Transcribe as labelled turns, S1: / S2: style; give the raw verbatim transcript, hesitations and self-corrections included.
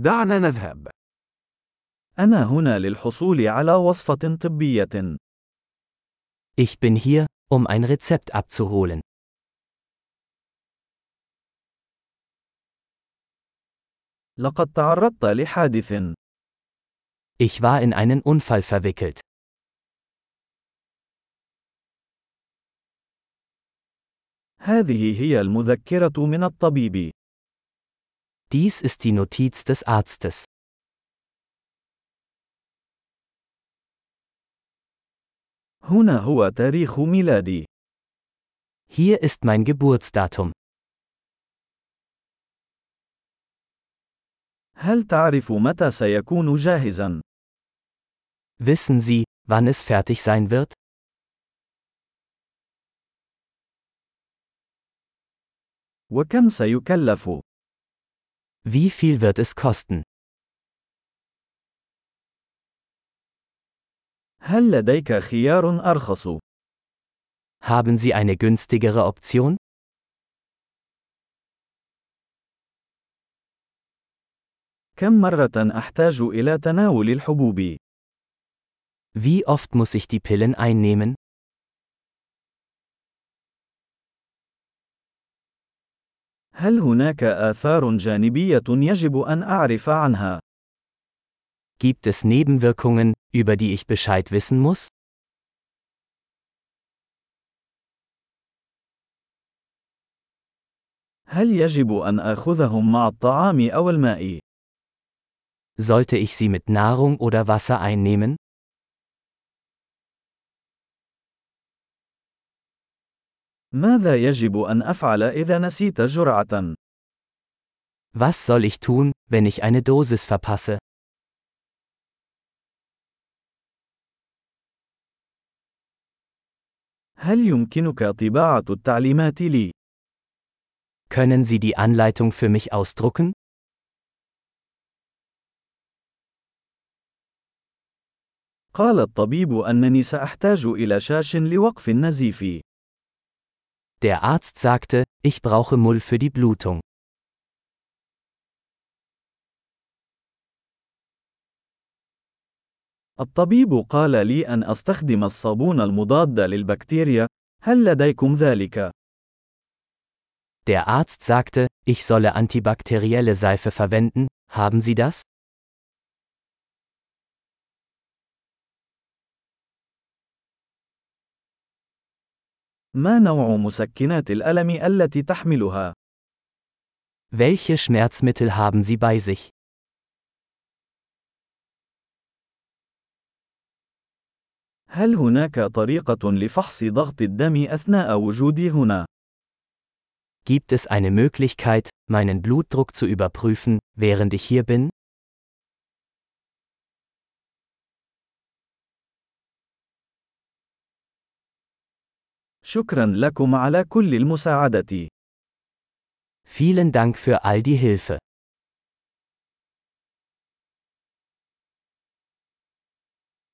S1: دعنا نذهب.
S2: أنا هنا للحصول على وصفة طبية.
S3: Ich bin hier, um ein Rezept abzuholen.
S2: لقد تعرضت لحادث.
S3: Ich war in einen Unfall verwickelt.
S2: هذه هي المذكرة من الطبيب.
S3: Dies ist die Notiz des Arztes.
S2: هنا هو تاريخ ميلادي.
S3: Hier ist mein Geburtsdatum.
S2: هل تعرف متى سيكون جاهزا؟
S3: Wissen Sie, wann es fertig sein wird?
S2: وكم سيكلف؟
S3: Wie viel wird es kosten?
S2: هل لديك خيار أرخص؟
S3: Haben Sie eine günstigere Option?
S2: كم مرة أحتاج إلى تناول الحبوب؟
S3: Wie oft muss ich die Pillen einnehmen?
S2: هل هناك آثار جانبية يجب أن أعرف عنها؟
S3: Gibt es Nebenwirkungen, über die ich Bescheid wissen muss?
S2: هل يجب أن آخذهم مع الطعام أو الماء؟
S3: Sollte ich sie mit Nahrung oder Wasser einnehmen?
S2: ماذا يجب أن أفعل إذا نسيت جرعة؟
S3: Was soll ich tun, wenn ich eine Dosis verpasse?
S2: هل يمكنك طباعة التعليمات لي؟
S3: Können Sie die Anleitung für mich ausdrucken?
S2: قال الطبيب أنني سأحتاج إلى شاش لوقف النزيف.
S3: Der Arzt sagte, ich brauche Mull für die Blutung.
S2: الطبيب قال لي أن أستخدم الصابون المضاد للبكتيريا. هل لديكم ذلك؟
S3: Der Arzt sagte, ich solle antibakterielle Seife verwenden. Haben Sie das?
S2: ما نوع مسكنات الألم التي تحملها؟
S3: Welche Schmerzmittel haben Sie bei sich?
S2: هل هناك طريقة لفحص ضغط الدم أثناء وجودي هنا؟
S3: Gibt es eine Möglichkeit, meinen Blutdruck zu überprüfen, während ich hier bin?
S2: شكرا لكم على كل المساعدة.
S3: Vielen Dank für all die Hilfe.